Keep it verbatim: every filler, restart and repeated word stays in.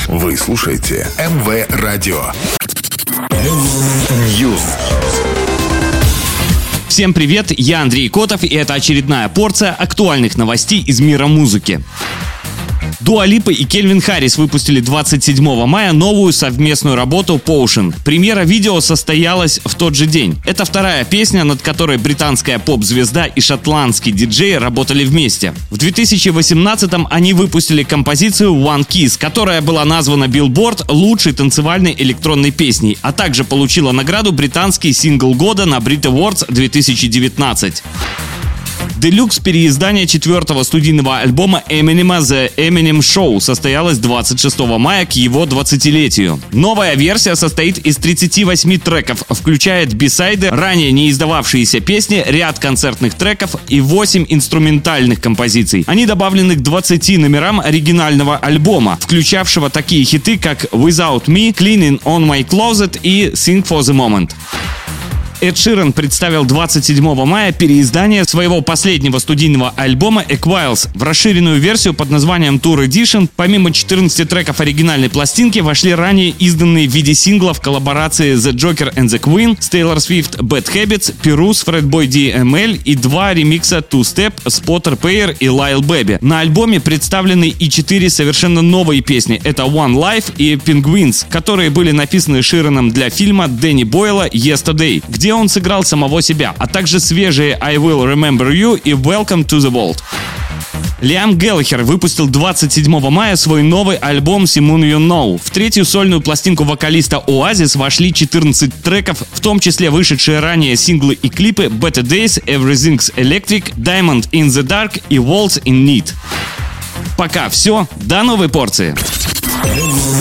Вы слушаете эм вэ Радио Ньюс. Всем привет, я Андрей Котов, и это очередная порция актуальных новостей из мира музыки. Дуа Липа и Кельвин Харрис выпустили двадцать седьмого мая новую совместную работу Potion. Премьера видео состоялась в тот же день. Это вторая песня, над которой британская поп-звезда и шотландский диджей работали вместе. В две тысячи восемнадцатом они выпустили композицию One Kiss, которая была названа Billboard лучшей танцевальной электронной песней, а также получила награду британский сингл года на Brit Awards две тысячи девятнадцать. Делюкс переиздание четвертого студийного альбома Эминема The Eminem Show состоялось двадцать шестого мая к его двадцатилетию. Новая версия состоит из тридцати восьми треков, включает бисайды, ранее не издававшиеся песни, ряд концертных треков и восемь инструментальных композиций. Они добавлены к двадцати номерам оригинального альбома, включавшего такие хиты, как Without Me, Cleaning on My Closet и Sing for the Moment. Эд Ширан представил двадцать седьмого мая переиздание своего последнего студийного альбома Equals. В расширенную версию под названием Tour Edition помимо четырнадцати треков оригинальной пластинки вошли ранее изданные в виде синглов коллаборации The Joker and the Queen с Taylor Swift, Bad Habits, Pirus, Fatboy ди эм эл и два ремикса Two Step с Potter Payr и Lil Baby. На альбоме представлены и четыре совершенно новые песни. Это One Life и Penguins, которые были написаны Шираном для фильма Дэнни Бойла Yesterday, где он сыграл самого себя, а также свежие I Will Remember You и Welcome to the Vault. Лиам Гэллахер выпустил двадцать седьмого мая свой новый альбом Someone You Know. В третью сольную пластинку вокалиста Oasis вошли четырнадцать треков, в том числе вышедшие ранее синглы и клипы Better Days, Everything's Electric, Diamond in the Dark и Waltz in Need. Пока все, до новой порции.